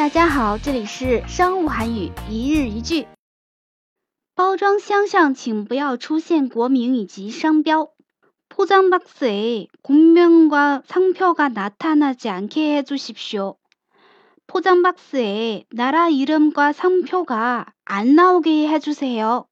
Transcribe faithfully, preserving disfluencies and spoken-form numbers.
家好，这里是商务韩语一日一句。包装箱上请不要出现国名以及商标。포장 박스에 국명과 상표가 나타나지 않게 해주십시오. 포장 박스에 나라 이름과 상표가 안 나오게 해주세요.